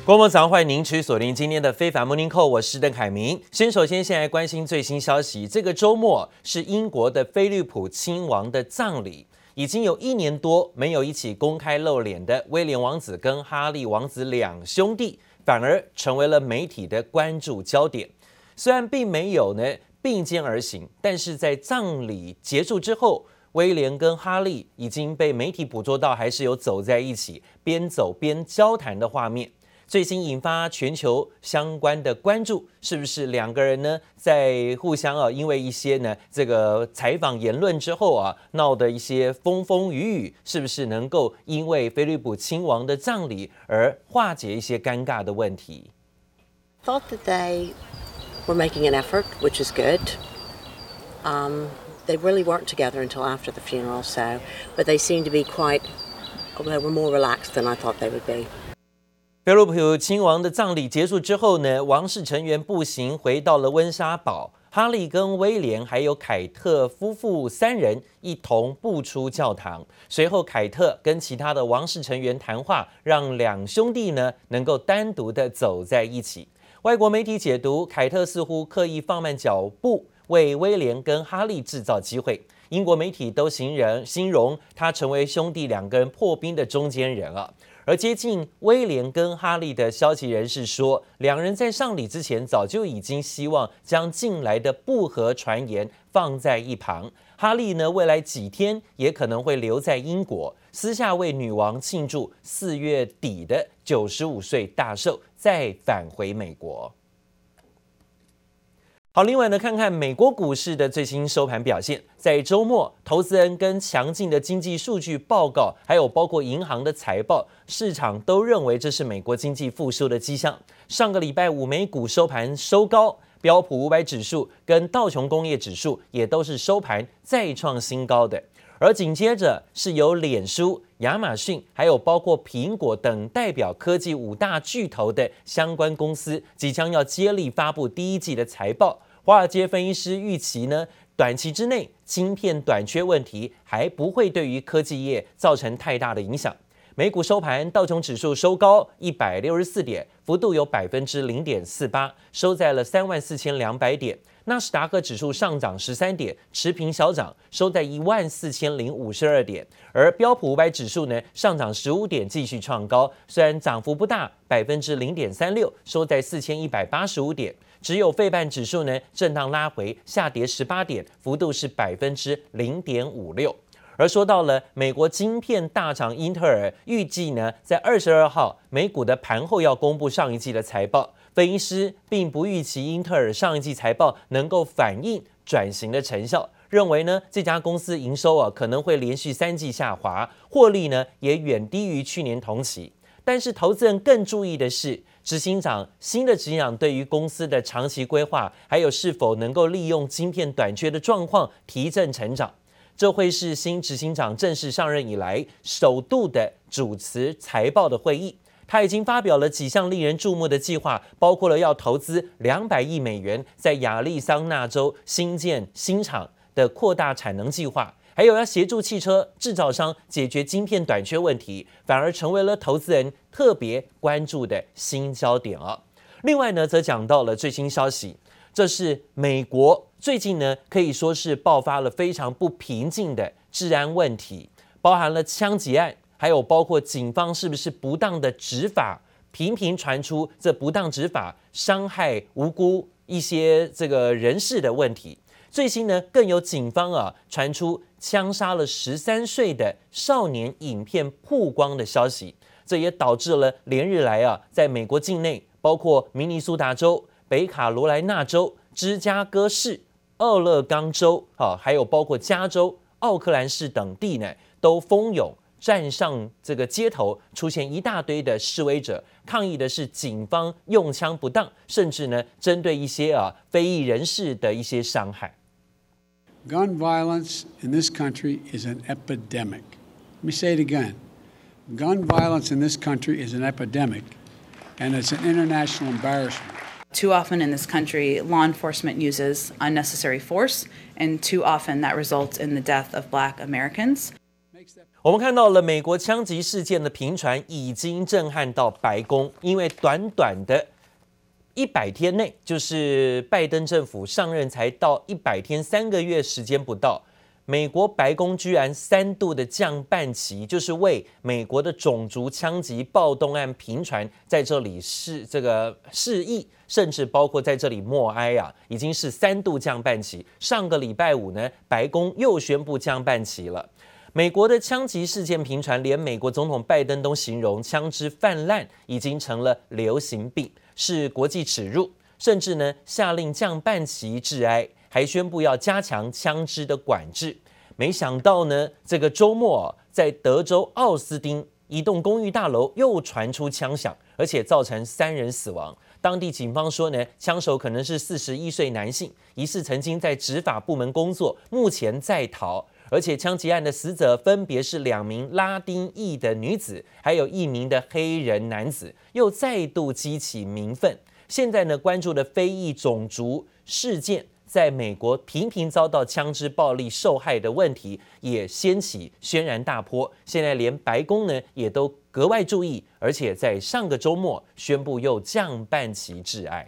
觀眾早上，歡迎您持續鎖定今天的非凡 Morning Call， 我是鄧凱明。先來關心最新消息，這個週末是英國的菲利普親王的葬禮，已經有1年多沒有一起公開露臉的威廉王子跟哈利王子兩兄弟，反而成為了媒體的關注焦點。雖然並沒有並肩而行，但是在葬禮結束之後，威廉跟哈利已經被媒體捕捉到，還是有走在一起，邊走邊交談的畫面。最新引發全球相關的關注，是不是兩個人在互相因為一些這個採訪言論之後鬧的一些風風雨雨，是不是能夠因為菲利普親王的葬禮而化解一些尷尬的問題？ Thought that they were making an effort, which is good. They really weren't together until after the funeral, but they seemed to be they were more relaxed than I thought they would be. 菲利普親王的葬禮結束之後王室成員步行回到了溫莎堡，哈利跟威廉還有凱特夫婦3人一同步出教堂。隨後，凱特跟其他的王室成員談話，讓兩兄弟能夠單獨的走在一起。外國媒體解讀，凱特似乎刻意放慢腳步，為威廉跟哈利制造機會。英國媒體都形容他成為兄弟兩個人破冰的中間人而接近威廉跟哈利的消息人士說，兩人在喪禮之前早就已經希望將近來的不和傳言放在一旁。哈利未來幾天也可能會留在英國，私下為女王慶祝4月底的95歲大壽，再返回美國。好，另外看看美國股市的最新收盤表現。在週末，投資人跟強勁的經濟數據報告，還有包括銀行的財報，市場都認為這是美國經濟復甦的跡象。上個禮拜五，美股收盤收高，標普500指數跟道瓊工業指數也都是收盤再創新高的。而緊接着是由臉書、亞馬遜，還有包括蘋果等代表科技5大巨頭的相關公司，即將要接力發布第一季的財報。華爾街分析師預期短期之內晶片短缺問題還不會對於科技業造成太大的影響。美股收盤，道瓊指數收高164點，幅度有0.48%，收在了34,200點。納斯達克指數上漲13點，持平小漲，收在14,052點。而標普500指數上漲15點，繼續創高，雖然漲幅不大，0.36%，收在4,185點。只有費半指數震盪拉回，下跌18點，幅度是0.56%。而說到了美國晶片大廠英特爾，預計在22號美股的盤後要公布上一季的財報。分析師並不預期英特爾上一季財報能夠反映轉型的成效，認為這家公司營收可能會連續3季下滑，獲利也遠低於去年同期。但是投資人更注意的是，新的執行長對於公司的長期規劃，還有是否能夠利用晶片短缺的狀況提振成長。這會是新執行長正式上任以來首度的主持財報的會議。他已經發表了幾項令人注目的計劃，包括了要投資200億美元在亞利桑那州新建新廠的擴大產能計劃，還有要協助汽車製造商解決晶片短缺問題，反而成為了投資人特別關注的新焦點另外則講到了最新消息，這是美國最近可以說是爆發了非常不平靜的治安問題，包含了槍擊案，還有包括警方是不是不當的執法，頻頻傳出這不當執法傷害無辜一些這個人士的問題。最新更有警方傳出槍殺了13歲的少年影片曝光的消息，這也導致了連日來在美國境內，包括明尼蘇達州、北卡羅來納州、芝加哥市、俄勒岡州還有包括加州、奧克蘭市等地都蜂擁站上這個街頭，出現一大堆的示威者，抗議的是警方用槍不當，甚至針對一些非裔人士的一些傷害。 Gun violence in this country is an epidemic. Let me say it again. Gun violence in this country is an epidemic, and it's an international embarrassment. Too often in this country, law enforcement uses unnecessary force, and too often that results in the death of Black Americans. 我們看到了美國槍擊事件的頻傳已經震撼到白宮，因為短短的100天內，就是拜登政府上任才到100天3個月時間不到，美國白宮居然3度的降半旗，就是為美國的種族槍擊暴動案頻傳在這裡示意，甚至包括在這裡默哀啊，已經是3度降半旗。上個禮拜五呢，白宮又宣布降半旗了。美國的槍擊事件頻傳，連美國總統拜登都形容槍支泛濫已經成了流行病，是國際恥辱，甚至呢下令降半旗致哀，還宣布要加強槍支的管制。沒想到呢，這個週末在德州奧斯汀一棟公寓大樓又傳出槍響，而且造成3人死亡。當地警方說呢，槍手可能是41歲男性，疑似曾經在執法部門工作，目前在逃。而且槍擊案的死者分別是2名拉丁裔的女子，還有1名的黑人男子，又再度激起民憤。現在呢，關注的非裔種族事件，在美國頻頻遭到槍支暴力受害的問題，也掀起軒然大波。現在連白宮呢也都格外注意，而且在上個週末宣布又降半旗致哀。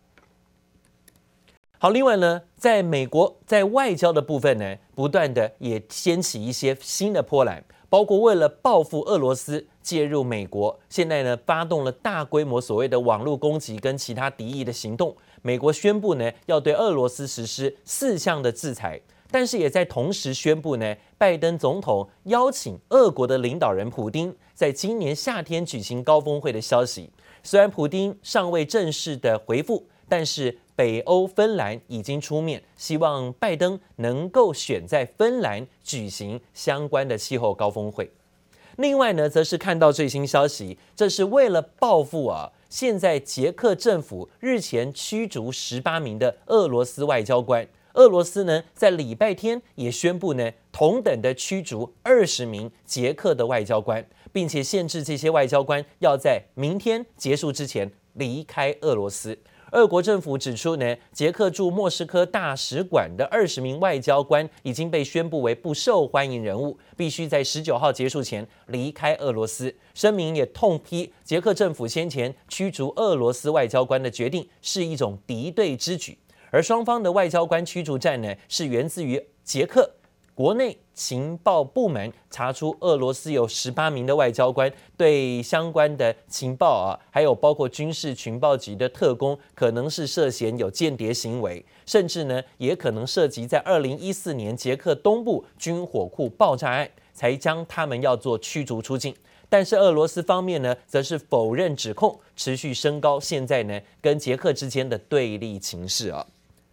好，另外呢，在美國在外交的部分呢，不斷的也掀起一些新的波瀾，包括為了報復俄羅斯介入美國，現在呢發動了大規模所謂的網絡攻擊跟其他敵意的行動。美國宣布呢要對俄羅斯實施4項的制裁，但是也在同時宣布呢，拜登總統邀請俄國的領導人普丁在今年夏天舉行高峰會的消息。雖然普丁尚未正式的回復，但是北歐芬蘭已經出面，希望拜登能夠選在芬蘭舉行相關的氣候高峰會。另外呢，則是看到最新消息，這是為了報復啊，現在捷克政府日前驅逐18名的俄羅斯外交官，俄羅斯呢在禮拜天也宣布呢同等的驅逐20名捷克的外交官，並且限制這些外交官要在明天結束之前離開俄羅斯。俄國政府指出呢，捷克駐莫斯科大使館的20名外交官已經被宣布為不受歡迎人物，必須在19號結束前離開俄羅斯。聲明也痛批捷克政府先前驅逐俄羅斯外交官的決定是一種敵對之舉，而雙方的外交官驅逐戰呢，是源自於捷克國內情報部門查出俄羅斯有18名的外交官對相關的情報啊，還有包括軍事情報局的特工，可能是涉嫌有間諜行為，甚至呢也可能涉及在2014年捷克東部軍火庫爆炸案，才將他們要做驅逐出境。但是俄羅斯方面呢，則是否認指控，持續升高現在呢跟捷克之間的對立情勢啊。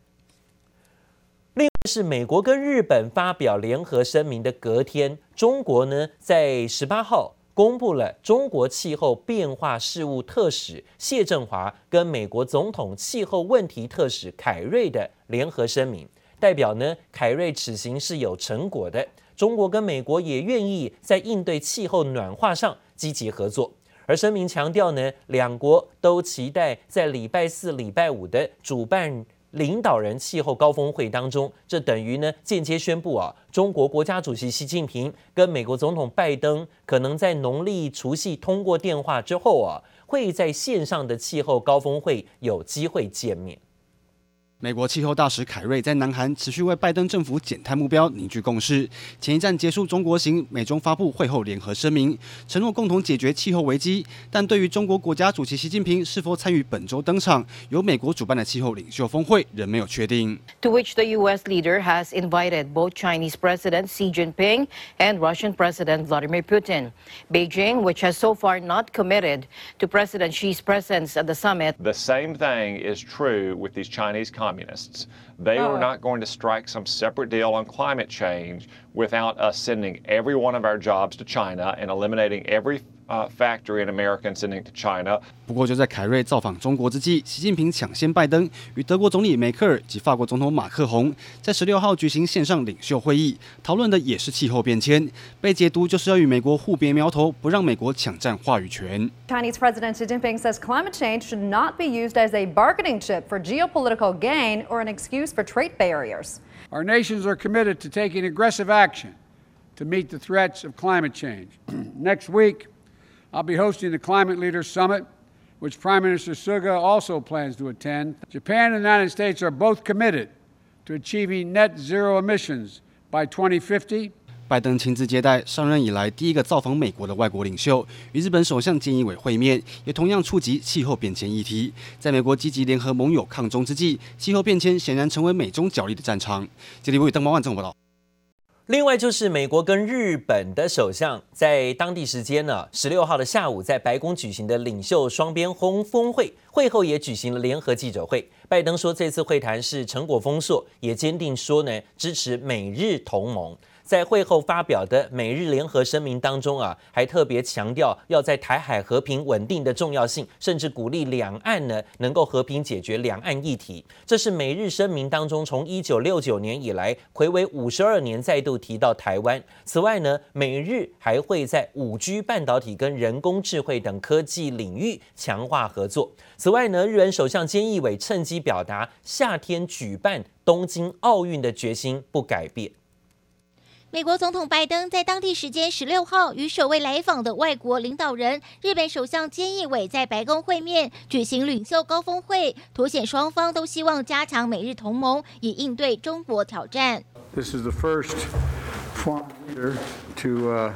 另外是美國跟日本發表聯合聲明的隔天，中國呢在18號公布了中國氣候變化事務特使謝振華跟美國總統氣候問題特使凱瑞的聯合聲明，代表呢凱瑞此行是有成果的，中國跟美國也願意在應對氣候暖化上積極合作。而聲明強調呢，兩國都期待在禮拜4、禮拜5的主辦領導人氣候高峰會當中，這等於呢間接宣布啊，中國國家主席習近平跟美國總統拜登可能在農曆除夕通過電話之後啊，會在線上的氣候高峰會有機會見面。 美國氣候大使凱瑞在南韓持續為拜登政府減碳目標凝聚共識。前一站結束中國行，美中發布會後聯合聲明，承諾共同解決氣候危機。但對於中國國家主席習近平是否參與本周登場由美國主辦的氣候領袖峰會，仍沒有確定。 To which the U.S. leader has invited both Chinese President Xi Jinping and Russian President Vladimir Putin. Beijing, which has so far not committed to President Xi's presence at the summit. The same thing is true with these Chinese communists. They are not going to strike some separate deal on climate change without us sending every one of our jobs to China and eliminating every factory in America and sending to China. 不過就在凱瑞造訪中國之際，習近平搶先拜登，與德國總理梅克爾及法國總統馬克宏在16號舉行線上領袖會議，討論的也是氣候變遷，被解讀就是要與美國互別苗頭，不讓美國搶佔話語權。 Chinese President Xi Jinping says climate change should not be used as a bargaining chip for geopolitical gain or an excuse for trade barriers. Our nations are committed to taking aggressive action to meet the threats of climate change. Next week, I'll be hosting the Climate Leaders Summit, which Prime Minister Suga also plans to attend. Japan and the United States are both committed to achieving net zero emissions by 2050. 拜登親自接待上任以來第一個造訪美國的外國領袖，與日本首相菅義偉會面，也同樣觸及氣候變遷議題。在美國積極聯合盟友抗中之際，氣候變遷顯然成為美中角力的戰場。傑里維鄧寶萬綜合報道。 另外就是美國跟日本的首相在當地時間呢16號的下午，在白宮舉行的領袖雙邊峰會，會後也舉行了聯合記者會。拜登說這次會談是成果豐碩，也堅定說呢支持美日同盟。在會後發表的美日聯合聲明當中還特別強調要在台海和平穩定的重要性，甚至鼓勵兩岸呢能夠和平解決兩岸議題。這是美日聲明當中從1969年以來睽違52年再度提到台灣。此外呢，美日還會在5G 半導體跟人工智慧等科技領域強化合作。此外呢，日本首相菅義偉趁機表達夏天舉辦東京奧運的決心不改變。 美國總統拜登在當地時間16號與首位來訪的外國領導人日本首相菅義偉在白宮會面，舉行領袖高峰會，凸顯雙方都希望加強美日同盟，以應對中國挑戰。 This is the first foreign leader to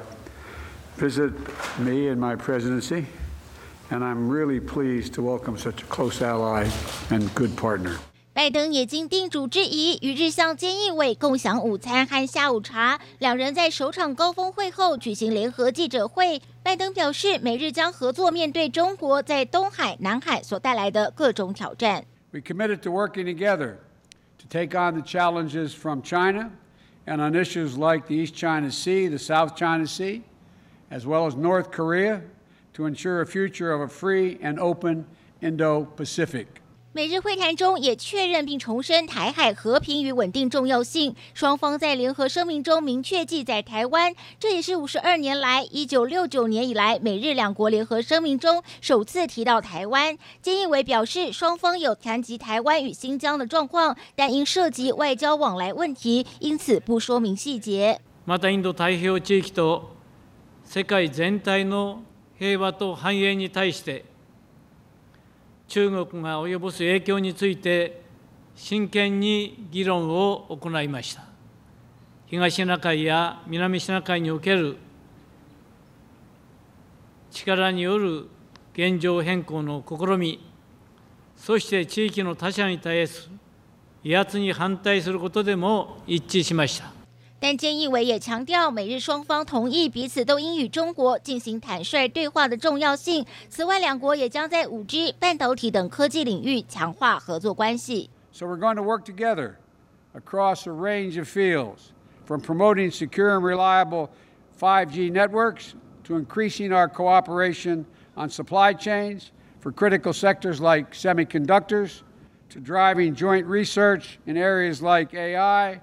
visit me in my presidency, and I'm really pleased to welcome such a close ally and good partner. 拜登也经叮囑之宜，與日相菅義偉共享午餐和下午茶。兩人在首場高峰會後舉行聯合記者會。拜登表示，美日將合作面對中國在東海、南海所帶來的各種挑戰。 We committed to working together to take on the challenges from China and on issues like the East China Sea, the South China Sea, as well as North Korea, to ensure a future of a free and open Indo-Pacific. 美日會談中也確認並重申台海和平與穩定重要性，雙方在聯合聲明中明確記載台灣，這也是52年來1969年以來美日兩國聯合聲明中首次提到台灣。菅義偉表示，雙方有談及台灣與新疆的狀況，但因涉及外交往來問題，因此不說明細節。 またインド太平洋地域と世界全體の平和と繁栄に対して中国が及ぼす影響について真剣に議論を行いました。東シナ海や南シナ海における力による現状変更の試み、そして地域の他者に対する威圧に反対することでも一致しました。 但菅義偉也強調，美日雙方同意彼此都應與中國進行坦率對話的重要性。此外，兩國也將在5G、半導體等科技領域強化合作關係。 So we're going to work together across a range of fields, from promoting secure and reliable 5G networks to increasing our cooperation on supply chains for critical sectors like semiconductors, to driving joint research in areas like AI,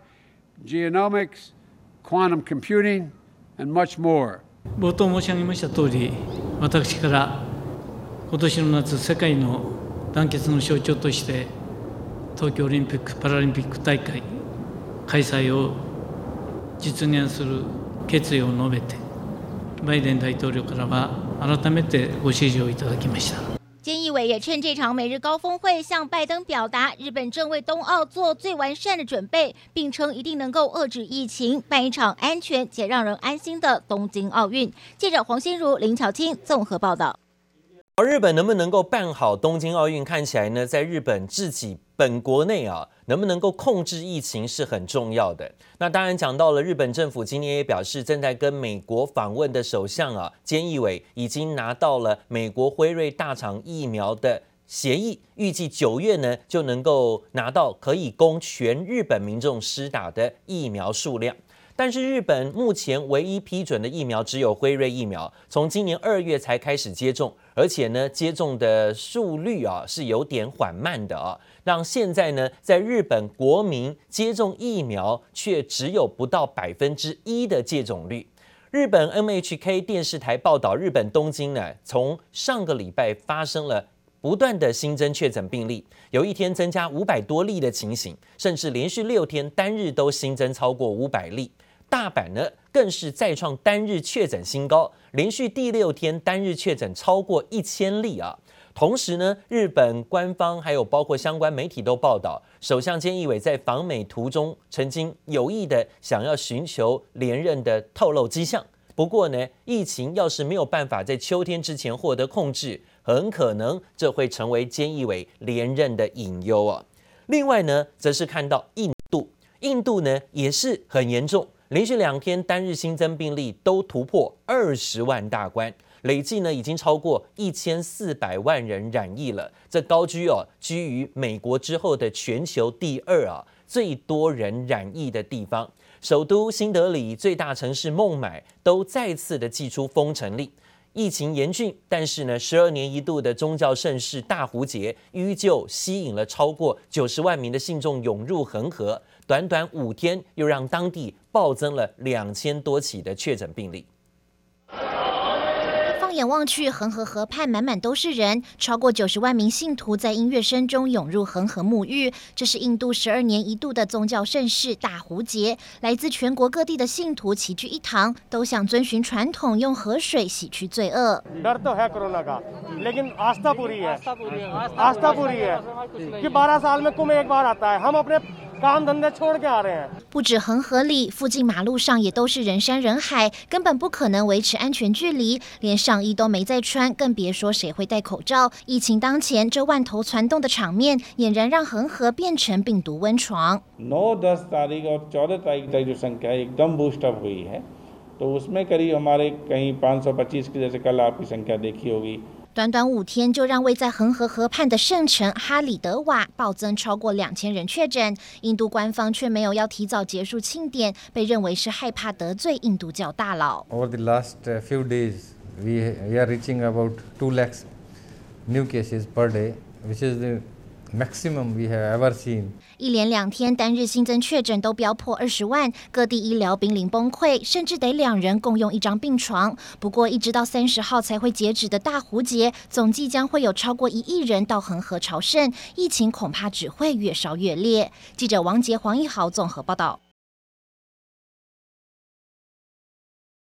genomics, quantum computing, and much more. 冒頭申し上げました通り、私から今年の夏、世界の団結の象徴として東京オリンピック・パラリンピック大会開催を実現する決意を述べて、バイデン大統領からは改めてご指示をいただきました。 菅義偉也趁這場美日高峰會向拜登表達，日本正為冬奧做最完善的準備，並稱一定能夠遏制疫情，辦一場安全且讓人安心的東京奧運。記者黃心如、林巧清綜合報道。 而日本能不能夠辦好東京奧運，看起來呢，在日本自己本國內能不能夠控制疫情是很重要的。那當然講到了日本政府今年也表示，正在跟美國訪問的首相菅義偉已經拿到了美國輝瑞大廠疫苗的協議，預計9月呢就能夠拿到可以供全日本民眾施打的疫苗數量。但是日本目前唯一批准的疫苗只有輝瑞疫苗，從今年2月才開始接種，而且呢接種的速率是有點緩慢的讓現在呢在日本國民接種疫苗卻只有不到1%的接種率。日本 NHK 電視台報道，日本東京呢從上個禮拜發生了不斷的新增確診病例，有一天增加500多例的情形，甚至連續6天單日都新增超過500例。 大阪呢更是再創單日確診新高，連續第6天單日確診超過1000例啊。同時呢，日本官方還有包括相關媒體都報道，首相菅義偉在訪美途中曾經有意的想要尋求連任的透露跡象。不過呢，疫情要是沒有辦法在秋天之前獲得控制，很可能這會成為菅義偉連任的隱憂啊。另外呢，則是看到印度呢也是很嚴重，連續2天單日新增病例都突破20萬大關。累計呢已經超過1400萬人染疫了，這高居於美國之後的全球第2最多人染疫的地方。首都新德里、最大城市孟買都再次的祭出封城令。疫情嚴峻，但是呢，12年一度的宗教盛事大壺節依舊吸引了超過90萬名的信眾湧入恆河，短短5天又讓當地暴增了2000多起的確診病例。 放眼望去，恆河河畔滿滿都是人，超過90萬名信徒在音樂聲中湧入恆河沐浴。這是印度12年一度的宗教盛事大壺節，來自全國各地的信徒齊聚一堂，都想遵循傳統，用河水洗去罪惡。不止恆河裡，附近馬路上也都是人山人海，根本不可能維持安全距離，連上衣都沒再穿，更別說誰會戴口罩。疫情當前，這萬頭攢動的場面，儼然讓恆河變成病毒溫床。 9, 10 तारीख और 14 तारीख तक जो संख्या एकदम boost up हुई है, तो उसमें करीब हमारे कहीं 525 की जैसे कल आपकी संख्या देखी होगी。 短短5天，就讓位在恆河河畔的聖城哈里德瓦暴增超過2000人確診。印度官方卻沒有要提早結束慶典，被認為是害怕得罪印度教大佬。 Over the last few days, we are reaching about 2 lakhs new cases per day, which is the maximum we have ever seen。 一連2天單日新增確診都飆破20萬，各地醫療瀕臨崩潰，甚至得2人共用1張病床。不過，一直到30號才會截止的大壺節，總計將會有超過1億人到恆河朝聖，疫情恐怕只會越燒越烈。記者王杰、黃義豪綜合報道。